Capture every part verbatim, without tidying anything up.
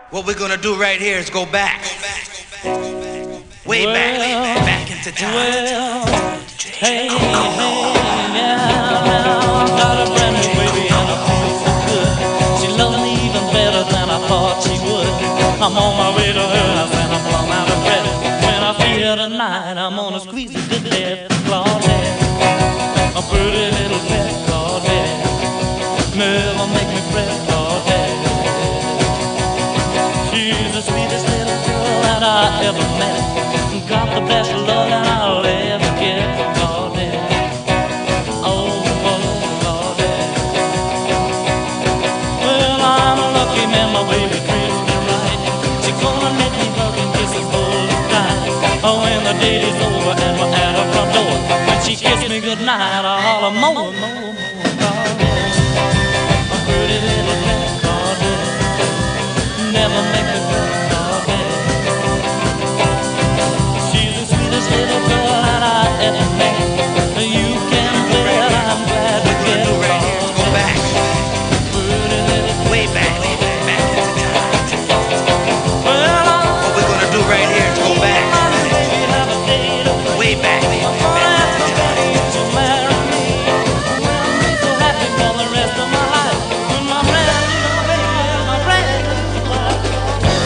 What we're gonna do right here is go back. Way back, way back, back into time. Well, hey, hey, yeah, got a brand new baby and I feel so good. She loves me even better than I thought she would. I'm on my way to her house and I'm plumb out of breath. When I see her tonight, I'm gonna squeeze her to death. Claudette, a pretty little pet, Claudette, never make me fret, Claudette. She's the sweetest little girl that I ever met. Got the best love that I'll ever get, Claudette. Oh, oh, Claudette. Well, I'm a lucky man, my baby treats me right. She's gonna let me hug and kiss us both tight. Oh, when the date is over and we're at her front door, when she kissed me goodnight, I'll holler more, more, more, Claudette. A pretty little pet, Claudette, never make me fret, Claudette. She's the sweetest little girl that I ever met. You can bet I'm glad to get her. Right here is go back. Pretty little Way back, way back, back into time. well, What we're gonna do right here is go back. baby, have a date. Way back, way I'm back, gonna back ask into my time. daddy to marry me. Well, be so happy for the rest of my life. With my brand new baby, my brand new wife.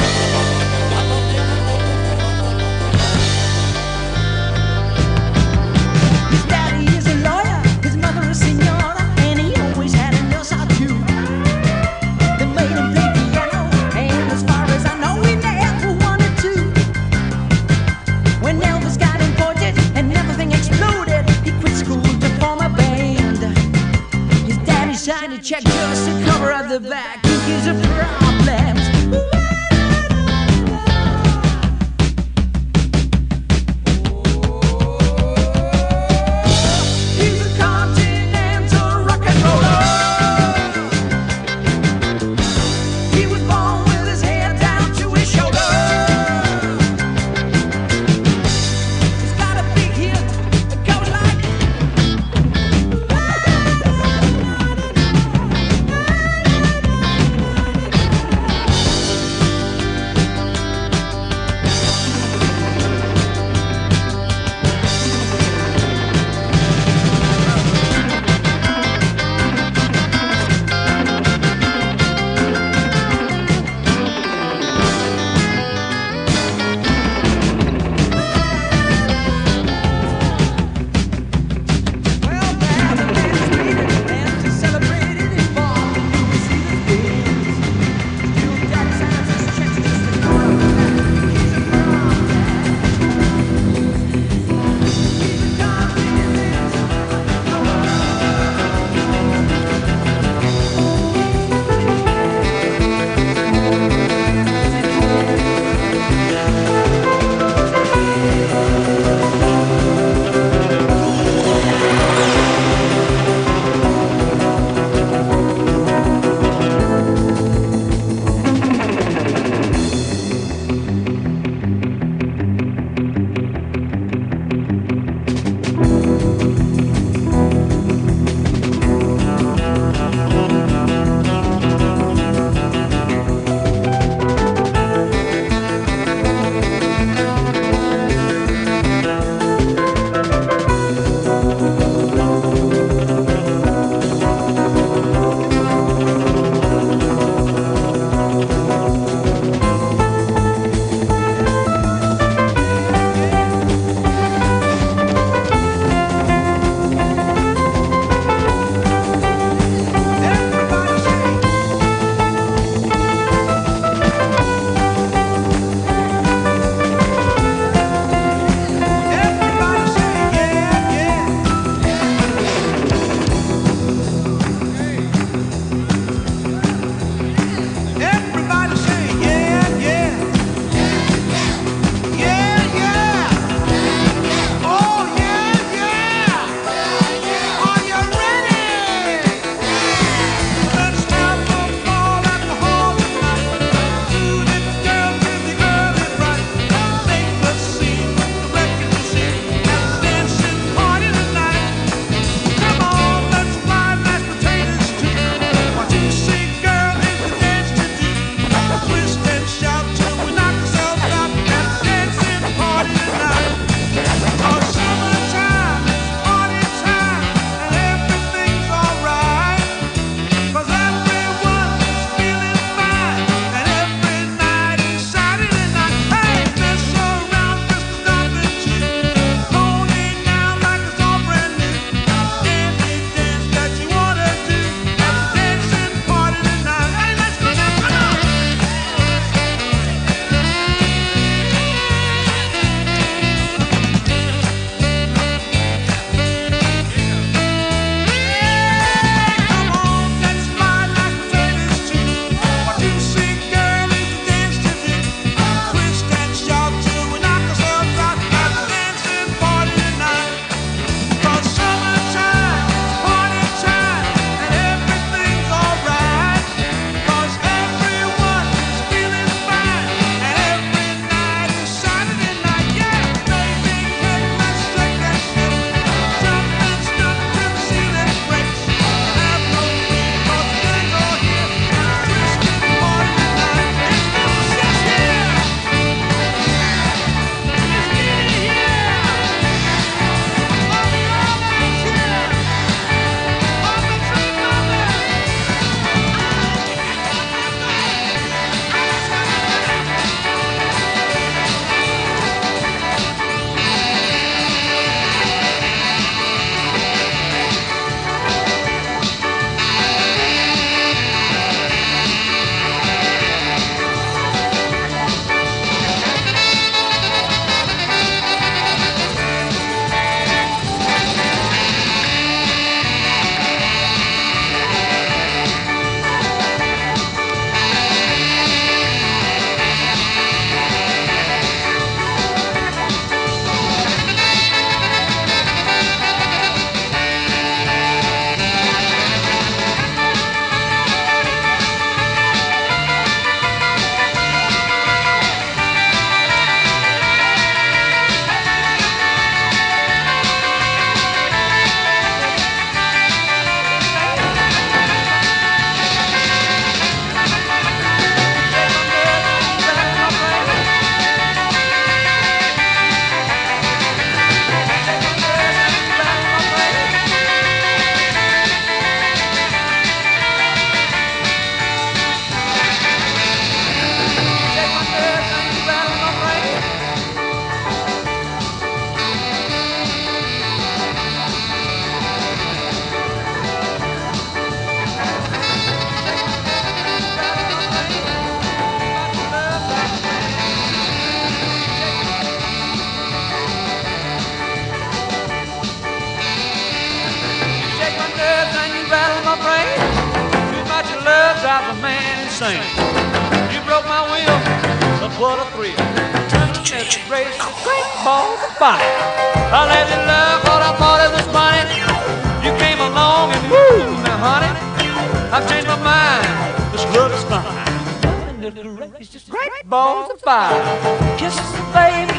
sing. You broke my will, but what a thrill. Tenderness, race, great balls of fire. I let you love what I thought it was funny. You came along and woo, now honey, I've changed my mind. This love is fine. It's just great balls of fire. Kisses, baby.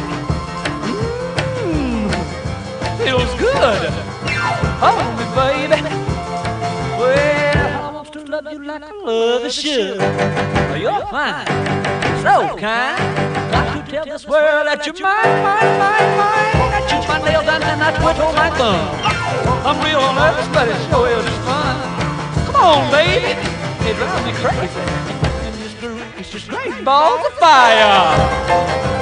Mmm, feels good. Hold me, baby. Well, I want to love you like I love a should. You're fine, so kind. Got to tell this world that you're mine, mine, mine, mine. I chew my nails and then I twiddle my thumb. I'm real nervous, but it sure is fun. Come on, baby. It drives me crazy. It's just great balls of fire.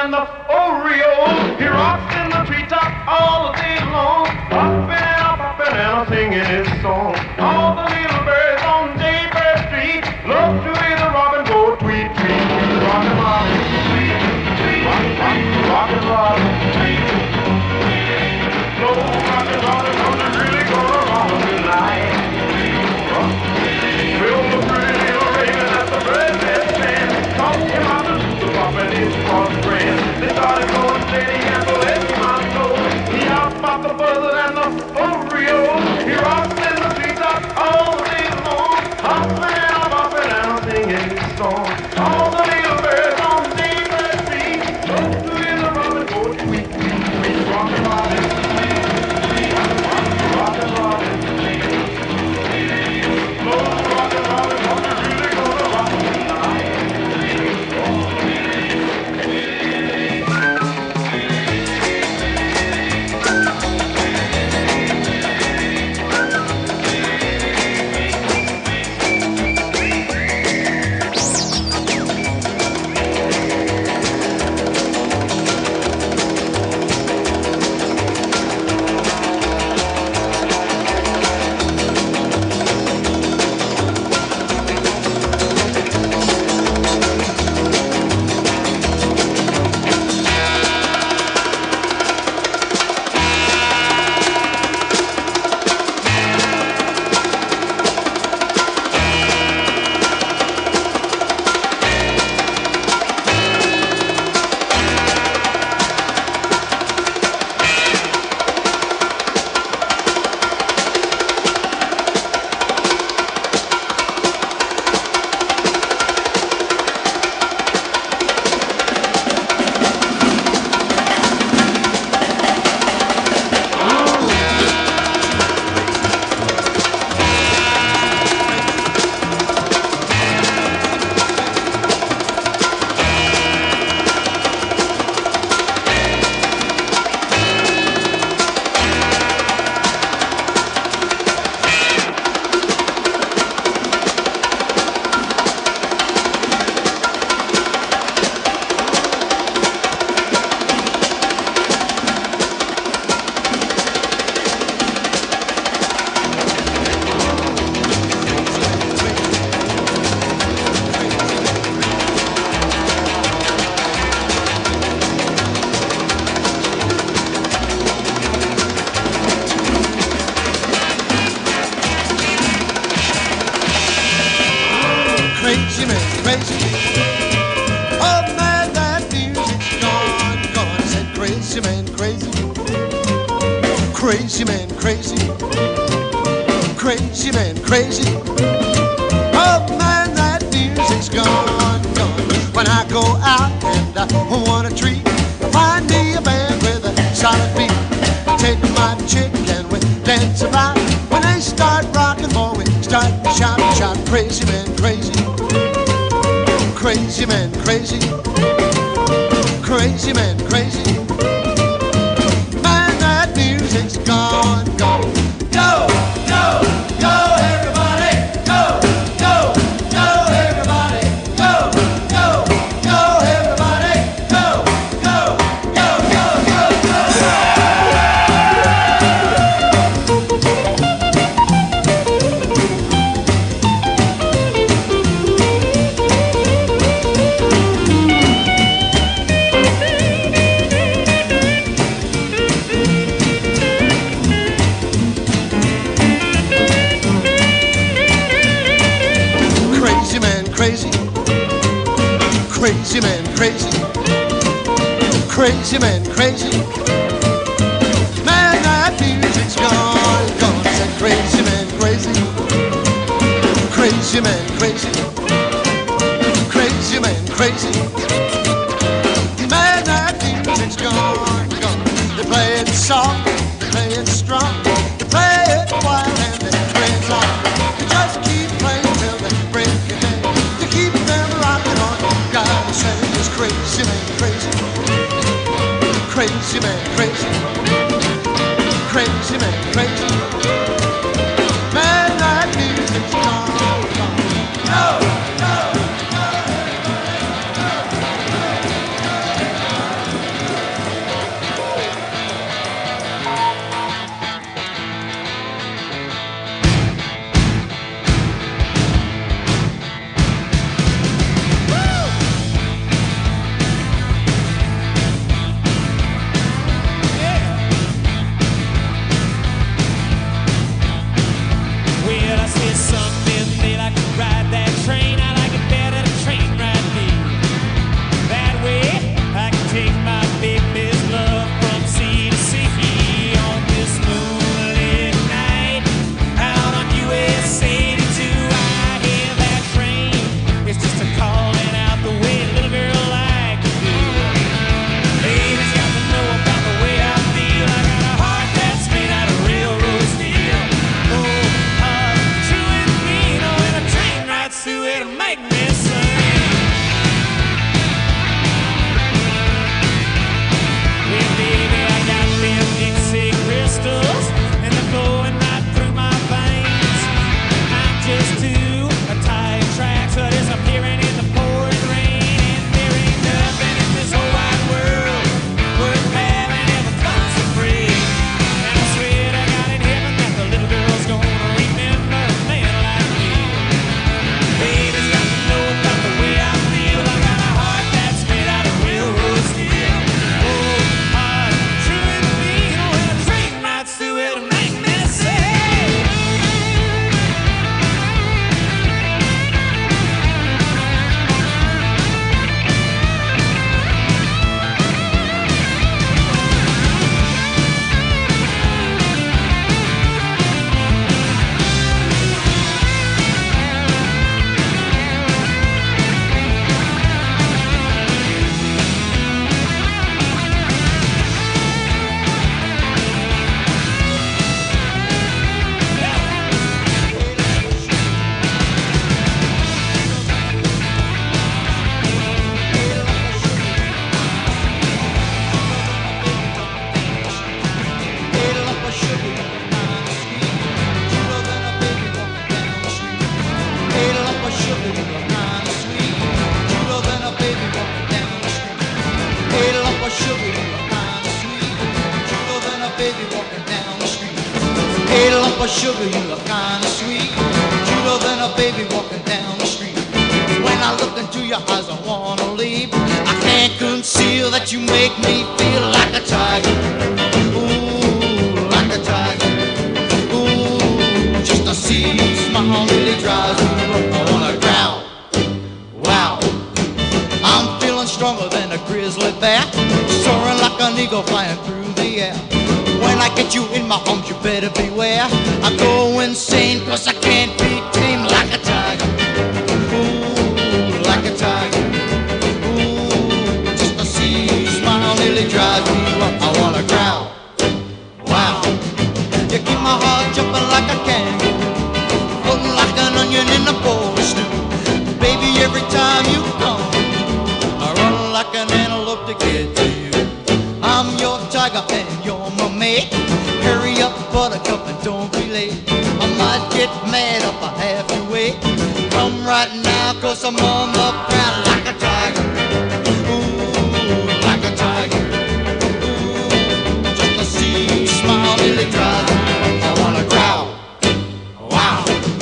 and the Oreo. He rocks in the treetop all the day long, hopping and a popping and a singing his song. All the little birds on Jaybird Street love to hear the robin go tweet, tweet, tweet. Rockin' robin, tweet, tweet, rock, rock, rockin' robin, tweet, tweet. No rockin' robin, cause it's really gonna rock tonight. Will the pretty little raven at the breakfast stand talk him out the super poppin' his cross friend. They started going steady and the let my know. He out about the buzzard and the Oreo. He rocks in the treetop all day long, hoppin' and a boppin' and a singing his song. All the little birds on Daybird Street love to hear the robin go tweet, tweet, tweet. Rockin' robin, tweet, tweet, rockin' robin, tweet, tweet. No rockin' robin, cause it's really gonna rock tonight. Crazy man, crazy. Oh man, that music's gone, gone. I said crazy man, crazy. Crazy man, crazy. Crazy man, crazy. Oh man, that music's gone, gone. When I go out and I want a treat, I find me a band with a solid beat. Take my chick and we dance about. When they start rocking, boy, we start to shout, shout. Crazy man, crazy. Crazy man, crazy. Crazy man, crazy. Man, that music's gone, gone. Go, go, go, everybody. Go, go, go, everybody. Go, go, go, everybody. Go, go, go, go, go, crazy, crazy man, crazy, crazy man, crazy. Man, that music's gone, gone. Said crazy man, crazy, crazy man, crazy, crazy man, crazy. Man, that music's gone, gone. They play it soft, they play it strong, they play it wild and they play it long. They just keep playing till they break your day. Keep them rocking on. Gotta say it's crazy man, crazy. Crazy man, crazy. Crazy man, crazy. Man, that music's gone, gone. No, no, no. for sugar, you look kinda sweet, cuter than a baby walking down the street. When I look into your eyes, I wanna leave. I can't conceal that you make me feel like a tiger. Ooh, like a tiger. Ooh, just to see you smile really drives me up. I wanna growl. Wow, I'm feeling stronger than a grizzly bear, soaring like an eagle flying through the air. When I get you in my arms, you better beware. I go insane 'cause I can't be tamed like a tiger. Ooh, like a tiger. Ooh, just to see you smile nearly drives me up. I wanna growl. Wow, you keep my heart jumping like a kangaroo, floating like an onion in a bowl of stew. Baby, every time you come, I run like an antelope to get to you. I'm your tiger and you're my mate. Hurry up, buttercup, and don't be late. I might get mad if I have to wait. Come right now, 'cause I'm on the ground like a tiger. Ooh, like a tiger. Ooh, just to see you smile really drives me up. I wanna growl. Wow.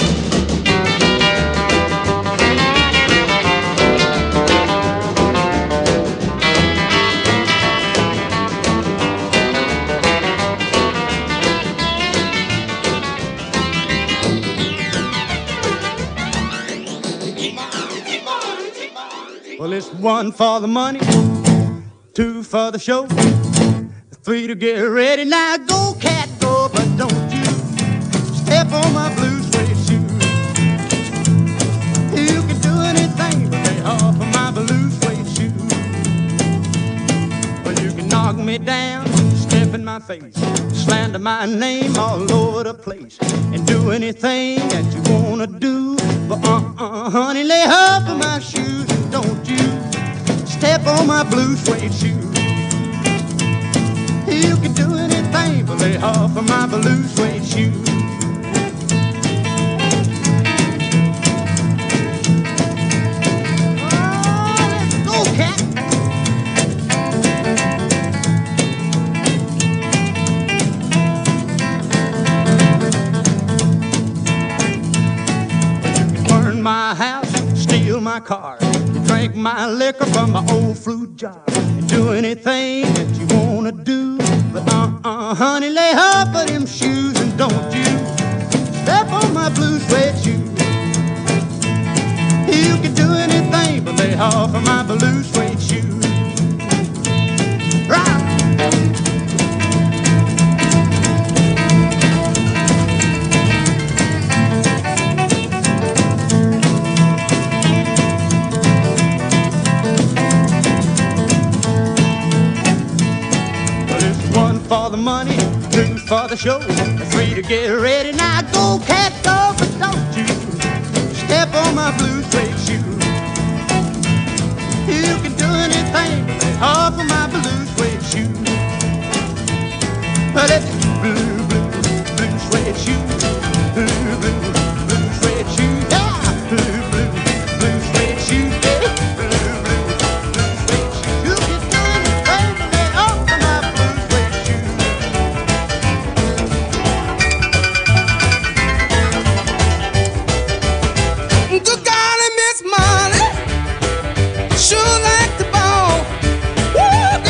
Well, it's one for the money, two for the show, three to get ready. Now go, cat, go, but don't you step on my blue suede shoe. You can do anything but lay off of my blue suede shoe. Well, you can knock me down, step in my face, slander my name all over the place, and do anything that you wanna do. But uh-uh, honey, lay off of my shoes, and don't you step on my blue suede shoe. You can do anything but lay off of my blue suede shoe. Oh, let's go, cat. My house, steal my car, drink my liquor from my old fruit jar, and do anything that you wanna do. But uh-uh, honey, lay off of them shoes, and don't you step on my blue suede shoes. You can do anything but lay off of my blue suede shoes. Right. For the money, two for the show, three to get ready. Now go, cat, go, but don't you step on my blue suede shoe. You can do anything off of my blue suede shoe. But it's blue, blue, blue suede shoe. Blue, blue, blue suede shoe. Yeah, blue, blue, blue suede shoe. Yeah, blue, blue, blue suede shoe. You can do anything off of my blue suede shoe. Good golly, Miss Molly, sure like the ball. Woo,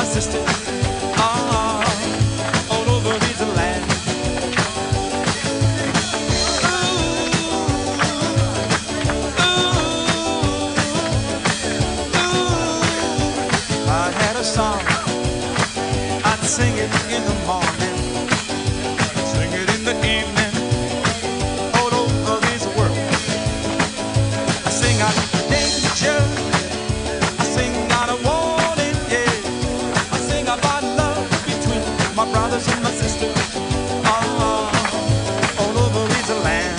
sister. Ah, all over this land. I had a song, I'd sing it in the morning, sing it in the evening, all over this world. I sing out danger, I sing out a warning, yeah. I sing about love between my brothers and my sisters, ah, all over this land.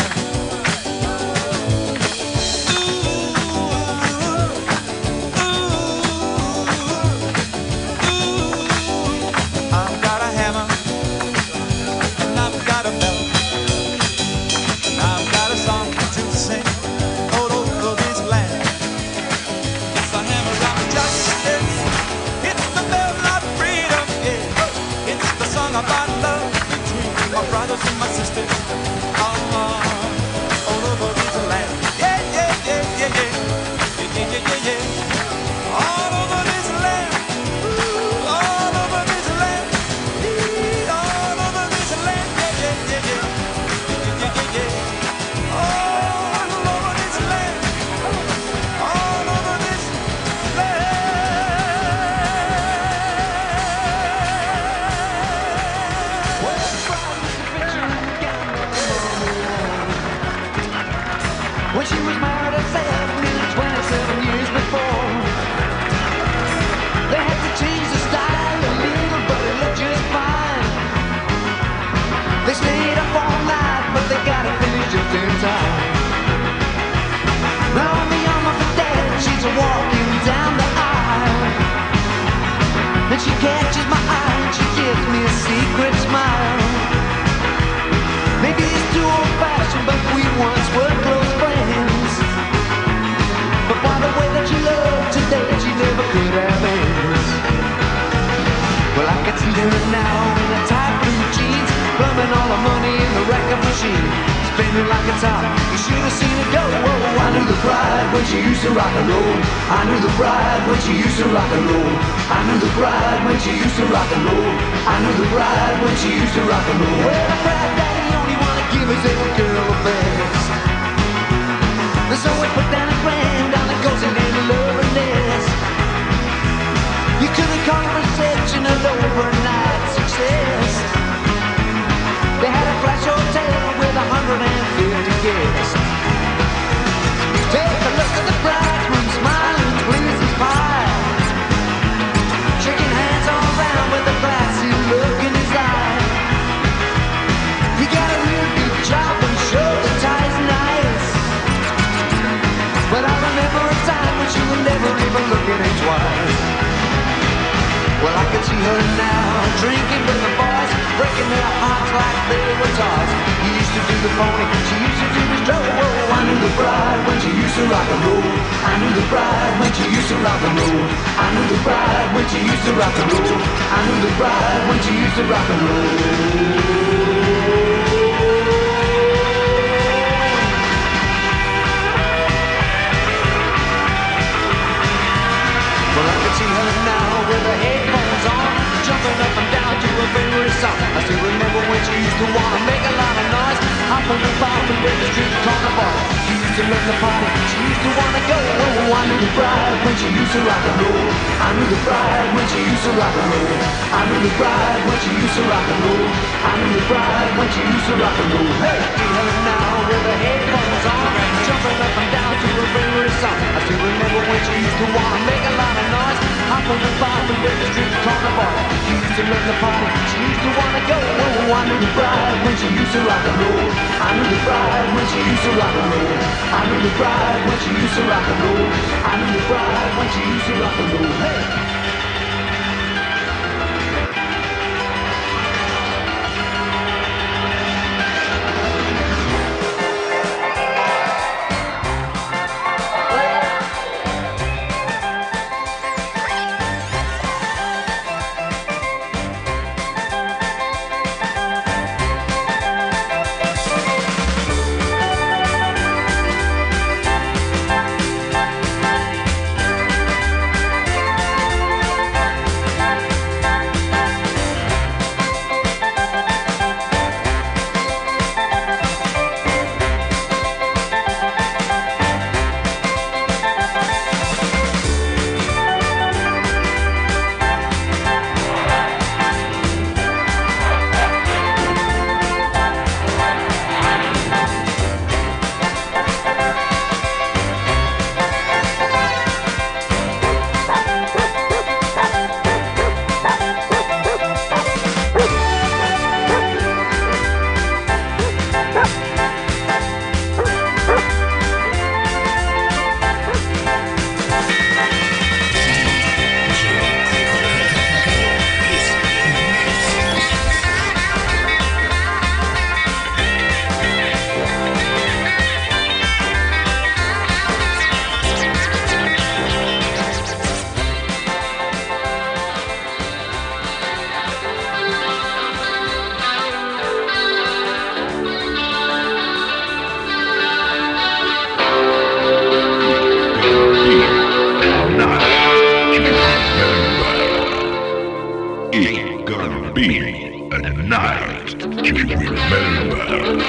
I've got a hammer, and I've got a bell, and I've got a song to sing all over this land. It's a hammer of justice, it's the bell of freedom, yeah. It's the song about love between my brothers and my sisters, ah, all over this land. Yeah, yeah, yeah, yeah, yeah, yeah, yeah, yeah, yeah, yeah. All over this land, ooh, all over this land. All over this land, yeah, yeah, yeah, yeah, yeah, yeah, yeah, yeah. All over this land, all over this land. When she was married herself nearly twenty-seven years before, they had to change the style a little, but it looked just fine. They stayed up all night, but they got it finished just in time. Now on the arm of her dad, she's walking down the aisle, and she catches my eye and she gives me a secret smile. Maybe it's too old-fashioned, but we once were close friends. But by the way that she loved today, she never could have ends. Well, I can see her now in her tight blue jeans, plumbing all the money in the record machine, spinning like a top. You should have seen it go. Whoa, I knew the bride when she used to rock and roll. I knew the bride when she used to rock and roll. I knew the bride when she used to rock and roll. I knew the bride when she used to rock and roll. Well, the bride daddy only wanna give his little girl a best. So we put down a grand on the goes and in love and nest. You couldn't call it reception an overnight success. They had a flash hotel with a hundred and fifty guests. Take a look at the bridegroom smiling, pleased as pie, shaking hands all around with a glassy look in his eye. He got a real good job and showed the ties nice. But I remember a time when she would never even look at him twice. Well, I can see her now, drinking with the boys, breaking their hearts like they were toys. He used to do the pony, she used to do the stroll. Whoa, I knew the bride when she used to rock and roll. I knew the bride when she used to rock and roll. I knew the bride when she used to rock and roll. I knew the bride when she used to rock and roll. Well, I can see her now with her headphones on, jumping up and down to her favorite song. I still remember when she used to wanna make a lot of noise, hopping and bopping with the street corner boy. She used to love the party, she used to wanna go. Oh, I knew the bride when she used to rock and roll. I knew the bride when she used to rock and roll. I knew the bride when she used to rock and roll. I knew the bride when she used to rock and roll. Hey, see her now with her headphones on, jumping up and down to her favorite song. I still remember when she used to wanna make a lot of noise, hopping and bopping with the street corner boy. She used to love the party, she used to wanna go. Oh, I knew the bride when she used to rock and roll. I knew the bride when she used to rock and roll. I knew the bride when she used to rock and roll. I knew the bride when she used to rock and roll. Hey! ain't gonna be a night to remember.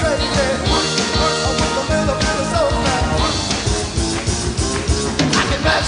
I can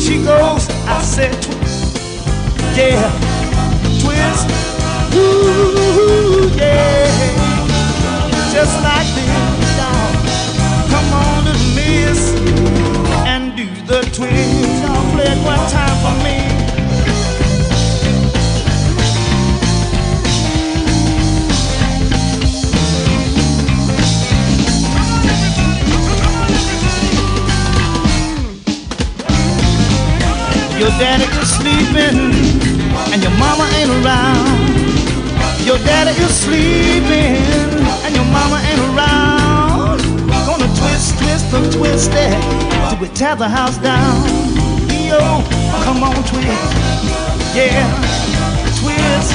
she goes, I said twist, yeah, twist, ooh, yeah, just like this, y'all. Come on, little miss, and do the twist. Y'all play it one time for me. Your daddy is sleeping and your mama ain't around. Your daddy is sleeping and your mama ain't around. Gonna twist, twist, and twist it till we tear the house down. Yo, come on, twist, yeah, twist,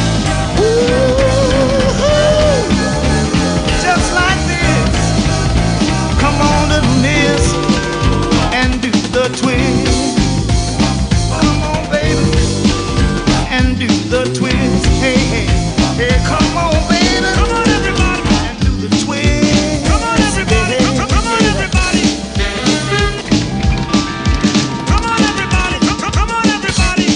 ooh, just like this. Come on, little miss, and do the twist. And do the twist, hey, hey, hey, come on, baby, come on, everybody, and do the twist, come on, everybody, hey, come, come on, everybody, come on, everybody, come, come on, everybody.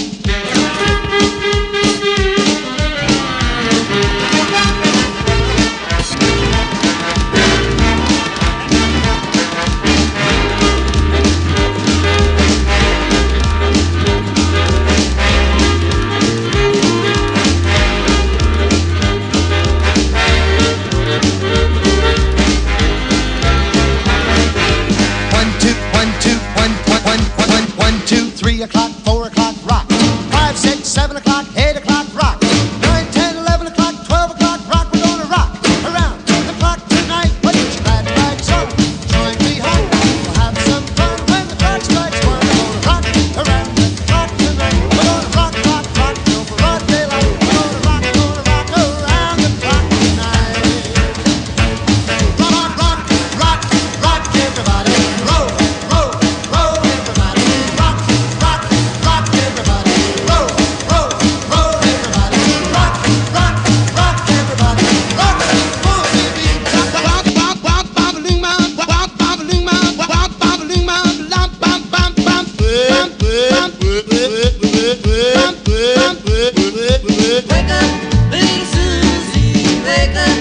Three o'clock, four o'clock, rock. Five, six, seven o'clock, eight o'clock, rock. Nine, ten, eleven o'clock, twelve o'clock, rock. We're gonna rock around the clock tonight. Put your glad rags on, join me home. We'll have some fun when the clock strikes one. We're gonna rock around the clock tonight. We're gonna rock, rock, rock till broad daylight. We're gonna rock, gonna rock around the clock tonight. Rock, rock, rock, rock, everybody. Roll, roll, roll, everybody. Rock. Rock, rock, everybody. Roll, roll, roll, everybody. Rock, rock, rock, everybody. Rock, roll, baby. Rock, rock, rock, rock, bam-a-loom, rock, rock, bam-a-loom, rock, rock, bam-a-loom, bam, bam, bam, bam, bam, bam, bam, bam, bam, bam. Wake up, little Susie, wake up.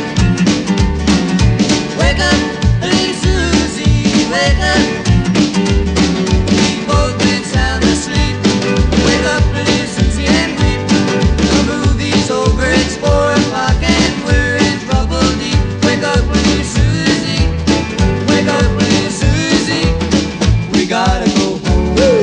Wake up, little Susie, wake up. We both been sound asleep. Wake up, little Susie, and weep. The movie's over, it's four o'clock and we're in trouble deep. Wake up, little Susie, wake up, little Susie. We gotta go home.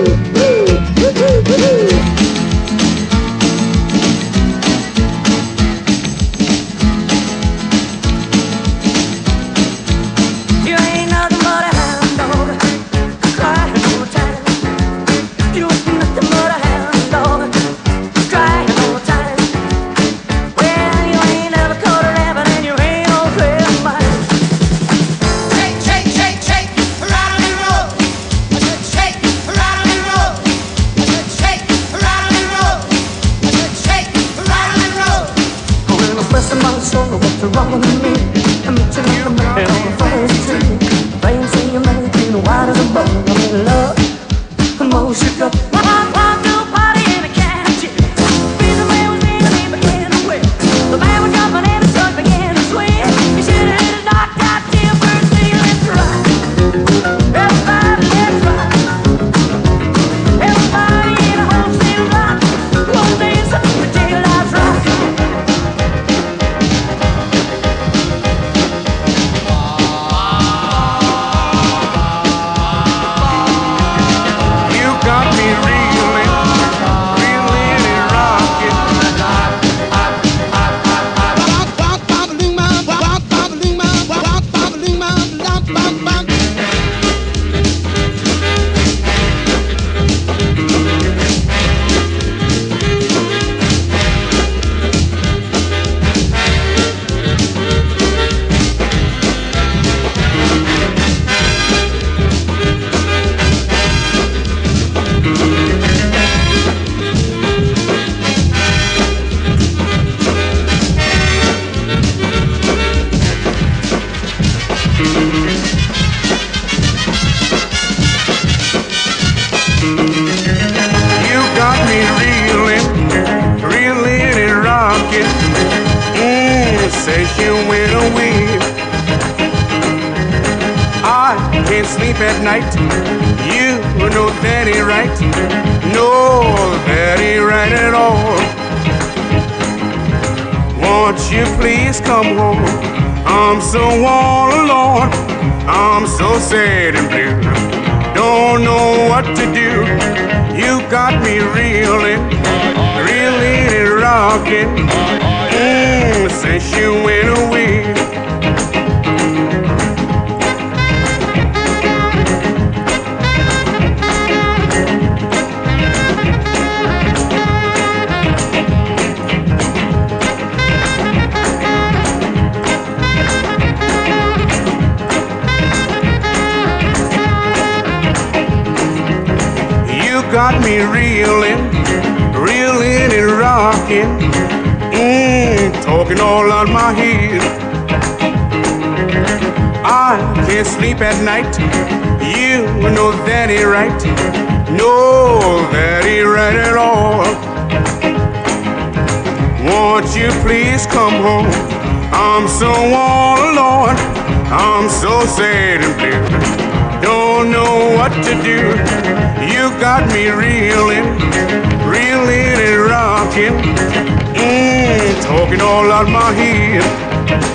You ain't nothing but a hound dog, crying all the time. You ain't nothing but a hound dog, crying all the time. Well, you ain't never caught a rabbit and you ain't no trail of mine. Shake, shake, shake, shake, rattle and roll. I said shake, rattle and roll. I said shake, rattle and roll. I said shake, rattle and roll. When I'm blessing my soul, what's wrong with me? I'm meeting up a man on the first tree. Rain say you're made clean, white as a bone. I'm in love, I'm all shook up. Walk, walk to a party in a catchy. Reason man was in, he began to whip. The man was jumping and the sun began to swim. You should have hit a knock out till first thing, let's ride. Everybody, let's ride. Everybody in a whole city rock. One dance up the tail lights rock. sleep at night. You know that ain't right. No, that ain't right at all. Won't you please come home? I'm so all alone. I'm so sad and blue. Don't know what to do. You got me reeling, reeling and rocking. Mm, since you went away. Got me reeling, reeling and rocking, mm, talking all out my head. I can't sleep at night. You know that ain't right. No, that ain't right at all. Won't you please come home? I'm so all alone. I'm so sad and blue. Don't know what to do. You got me reeling, reeling and rocking, mm, talking all out my head.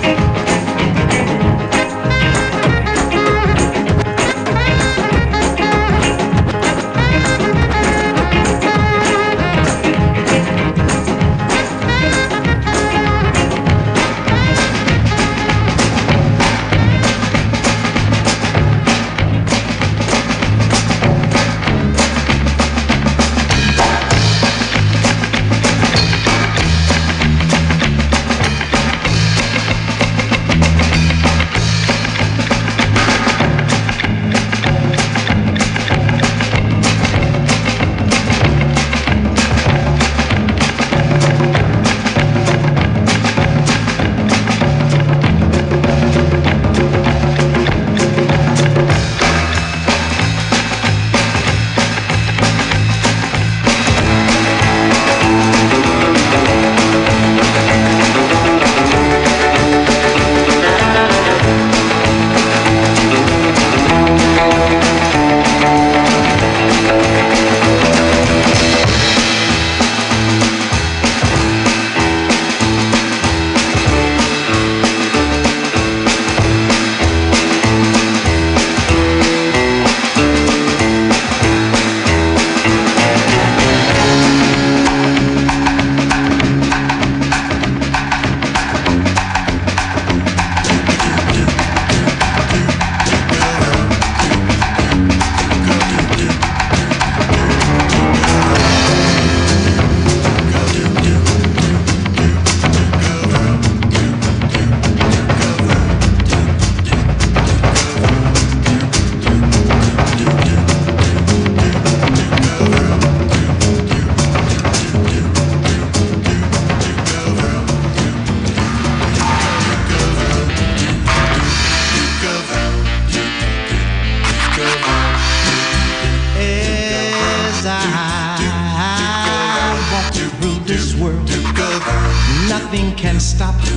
Nothing can stop the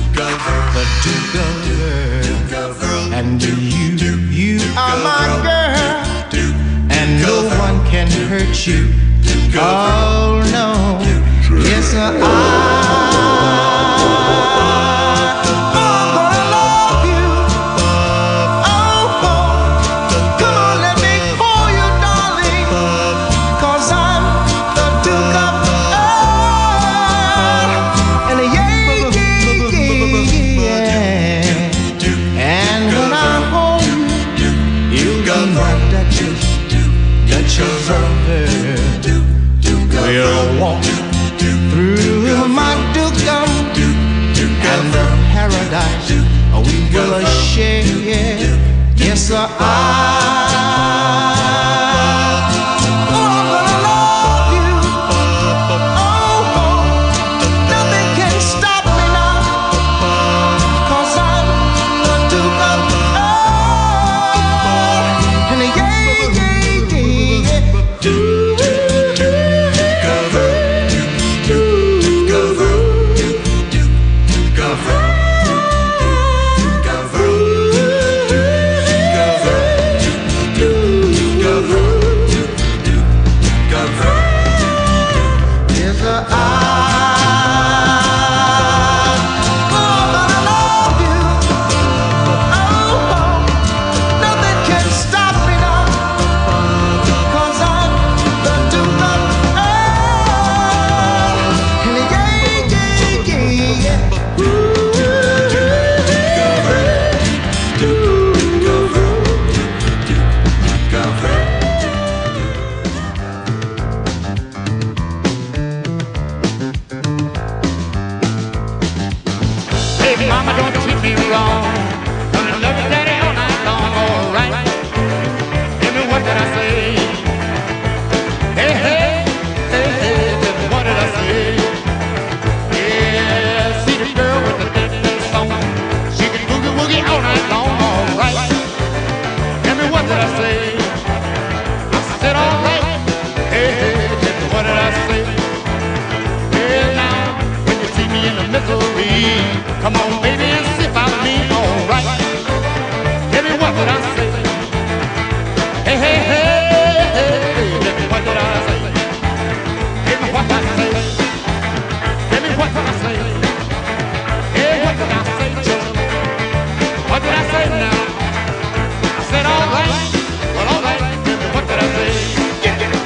Duke of Earl. And you, you are my girl, and no one can hurt you. Oh no, yes sir, I. We'll walk through my dukedom and the paradise we will share. Yes, sir, I. Come on, baby, and see about me, all right. Tell me what did I say? Hey, hey, hey, hey, tell me what did I say? Tell me what did I say? Tell me what did I say? Hey, what did I say, Joe? What did I say now? I said all right, well, all right, tell me what did I say? Yeah, yeah.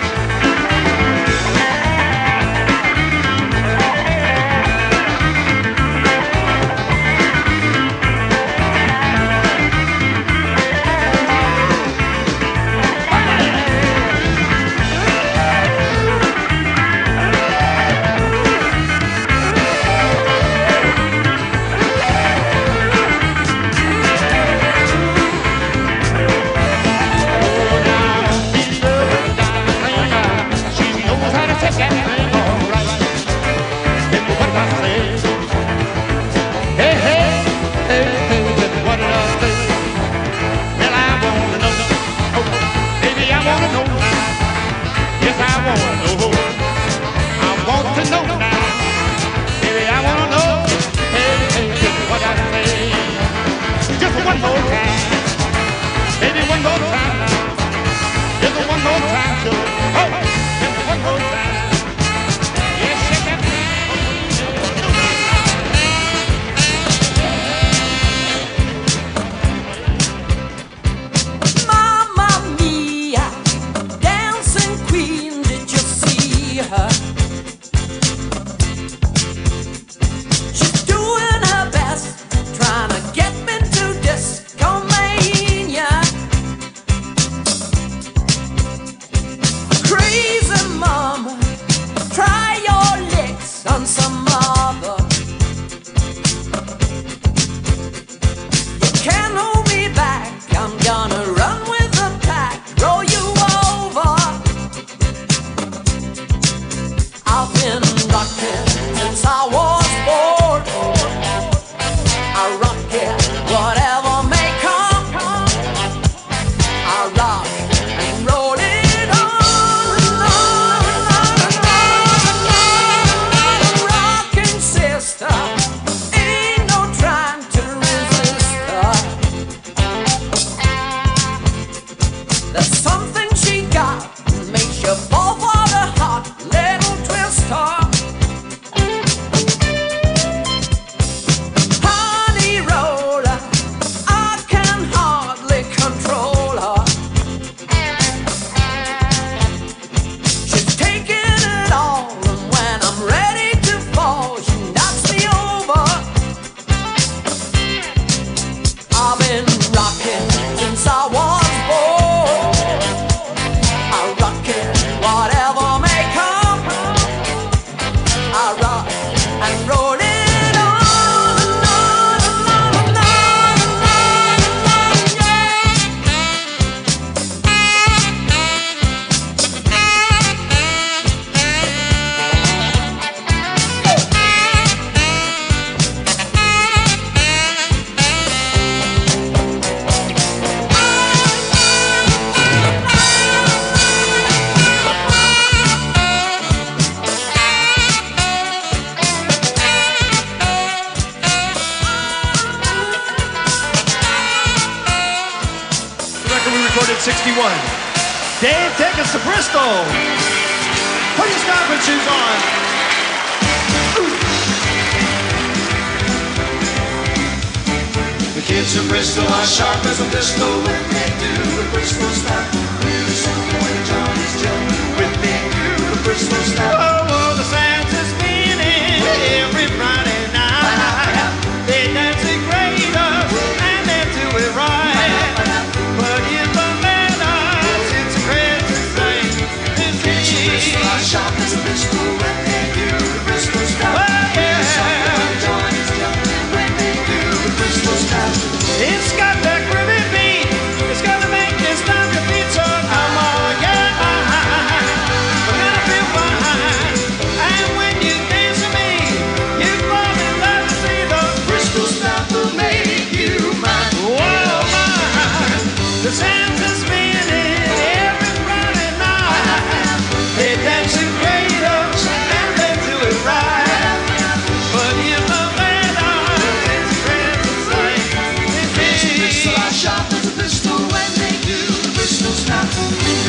sixty-one. Dave, take us to Bristol. Put your stocking shoes on. The kids of Bristol are sharp as a pistol when they do the Bristol stop. Really something when Johnny's jumping when they do the Bristol stop. Oh, oh, the sands are spinning every Friday night. They dance it great up and they do it right. But in the meadows, it's a crazy thing. The kids of Bristol are sharp as a pistol when they do the Bristol stop. Oh, yeah. Really something when Johnny's jumping when they do the Bristol stop. It's got that groovy beat. It's gonna make you stomp your feet. So come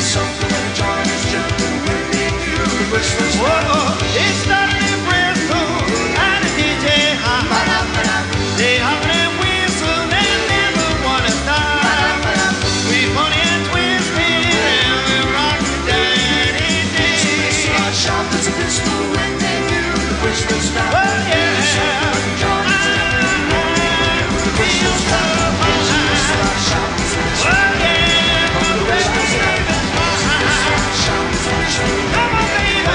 something when John is jumping with me to the Bristol Whoa, Star. it's not the Bristol and the D J high. They holler and whistle and never wanna stop. We funny and twisted and we rock the daddy day. Slot shop is a pistol when they do the Bristol Star. Oh yeah. John is jumping with me to the Bristol Star. Slot shop is a pistol. Oh yeah. From the Bristol Star. Slot shop is a pistol. Come on, baby.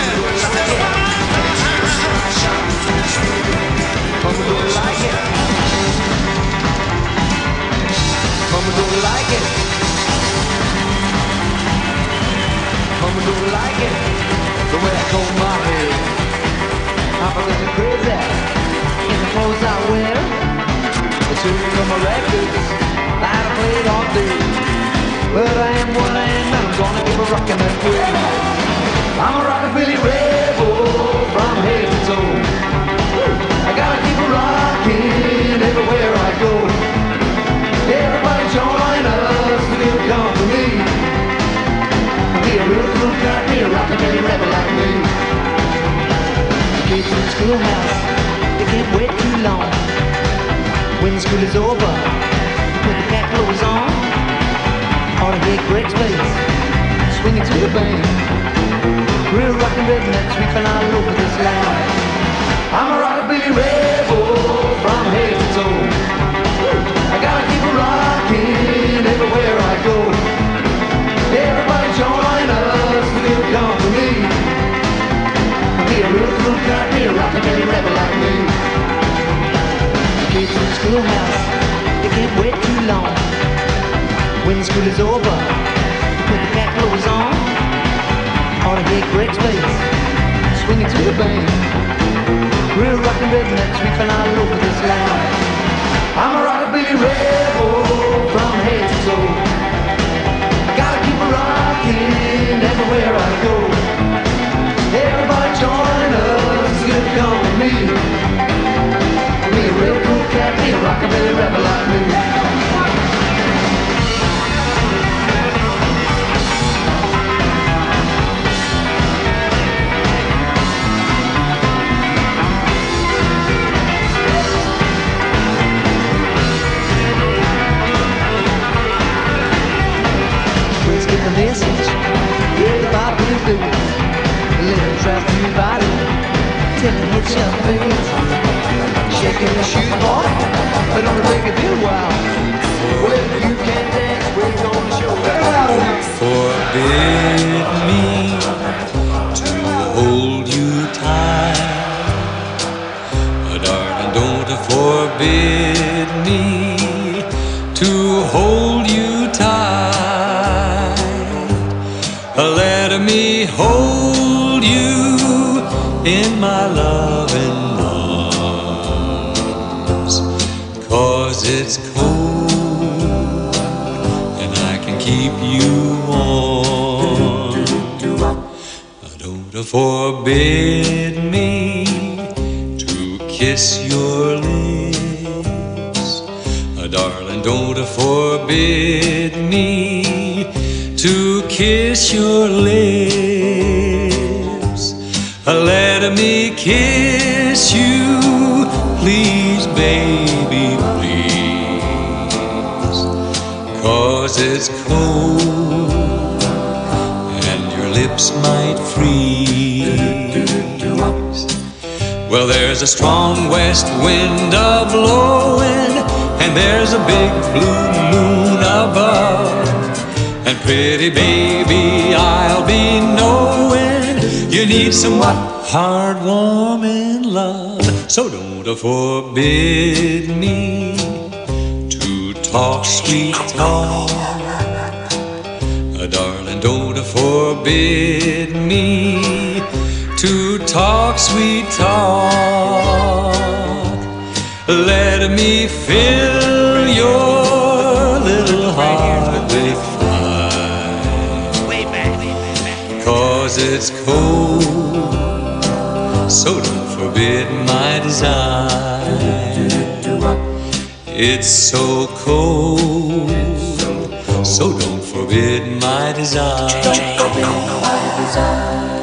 Slot shop is a pistol. Mama don't like it. Mama don't like it. Mama don't like it. The way I comb my hair. Papa looking crazy in the clothes I wear. The tunes on my records that I played all day. But I am what I am and I'm gonna keep a rockin' that way. I'm a rockabilly rebel from head to toe. I gotta keep a rockin' everywhere I go. Everybody join us, feel company. Be a real cool guy, be a rockabilly rebel like me. Kids in the schoolhouse, they can't wait too long. When school is over, put the cat clothes on. Ought to hear Greg's bass, swinging to the band. Real rockin' rednecks sweeping all over this land. I'm a rockabilly rebel from head to toe. I gotta keep a rockin' everywhere I go. Everybody join us, feel company. Be a real cool guy, be a rockabilly rebel like me. Kids in the schoolhouse, they can't wait too long. When school is over, put the cat clothes on. Ought to hear Greg's bass, swinging to the band. Real rockin' rednecks sweeping all over this land. I'm a rockabilly rebel from head to toe. I gotta keep a rockin' everywhere I go. Everybody join us, good company. Be a real cool cat, be a rockabilly rebel like me. The message, everybody will do. Let it trap through your body, till it hits your face. Shaking your shoes, boy, but don't take it a while. Well, you can dance, we're gonna show you. Forbid me to hold you tight, oh, darling, don't forbid me to hold you tight. Let me hold you in my loving arms, 'cause it's cold and I can keep you warm. Don't forbid me to kiss your lips, darling, don't forbid me to kiss your lips. Let me kiss you, please, baby, please, 'cause it's cold and your lips might freeze. Well, there's a strong west wind a-blowing, and there's a big blue moon above. And pretty baby, I'll be knowing you need some what? Hard, warming love. So don't forbid me to talk sweet talk, darling, don't forbid me to talk sweet talk. Let me fill your little heart with fire, 'cause it's cold, so don't forbid my desire. It's so cold, so don't forbid forbid my desire. Don't forbid my desire.